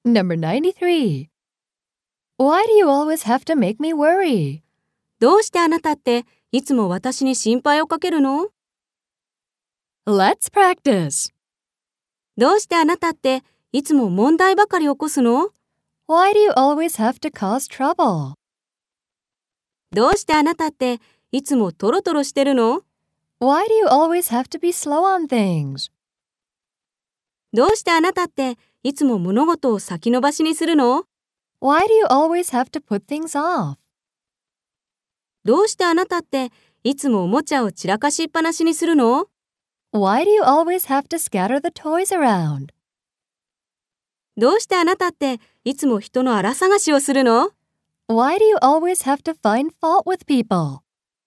Number 93. Why do you always have to make me worry? どうしてあなたっていつも私に心配をかけるの？ Let's practice. どうしてあなたっていつも問題ばかり起こすの？ Why do you always have to cause trouble? どうしてあなたっていつもトロトロしてるの？ Why do you always have to be slow on things? どうしてあなたっていつも物事を先延ばしにするの？ Why do you always have to put things off? どうしてあなたっていつもおもちゃを散らかしっぱなしにするの？ Why do you always have to scatter the toys around? どうしてあなたっていつも人の荒探しをするの？ Why do you always have to find fault with people?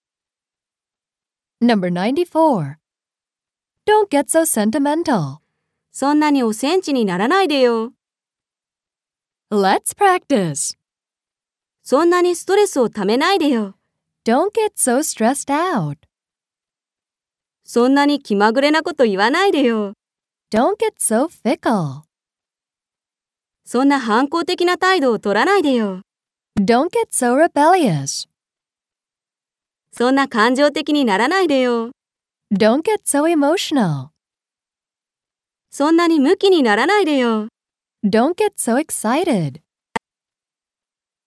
Number 94. Don't get so sentimental. そんなにおセンチにならないでよ。 Let's practice. そんなにストレスをためないでよ。 Don't get so stressed out. そんなに気まぐれなこと言わないでよ。 Don't get so fickle. そんな反抗的な態度を取らないでよ。 Don't get so rebellious. そんな感情的にならないでよ。 Don't get so emotional. そんなにムキにならないでよ。 Don't get so excited.